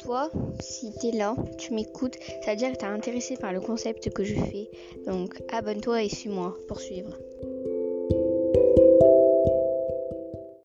toi, si t'es là, tu m'écoutes, ça veut dire que t'es intéressé par le concept que je fais. Donc abonne-toi et suis-moi pour suivre.